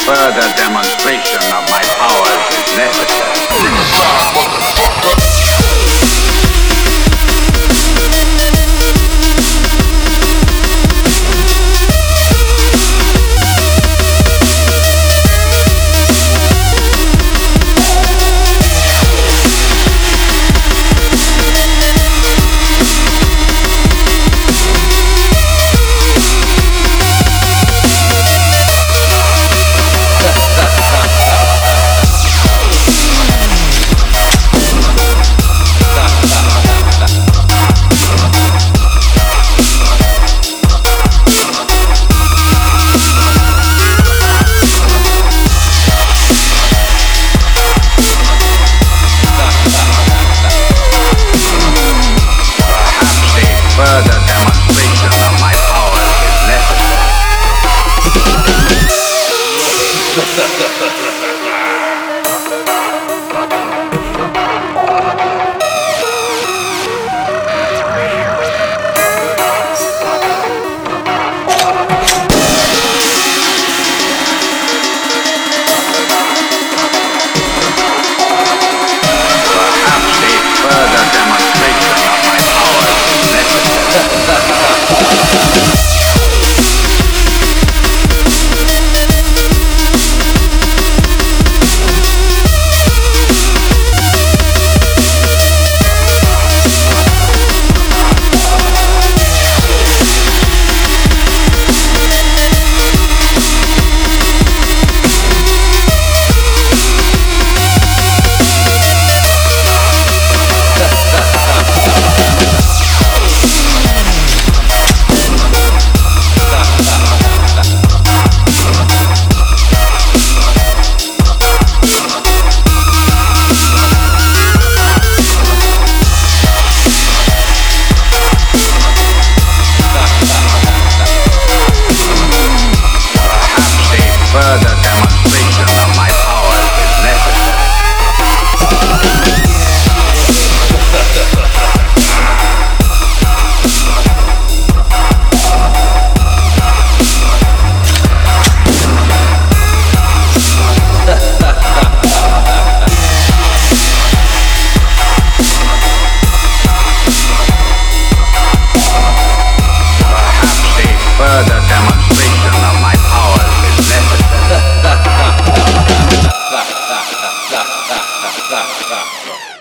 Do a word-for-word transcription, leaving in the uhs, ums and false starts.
further demonstration of my powers is necessary. Ringside, motherfucker. Further demonstration of my powers is necessary. Perhaps a further demonstration of my powers is necessary. Further demonstration of my powers is necessary. Perhaps a further demonstration of my powers is necessary.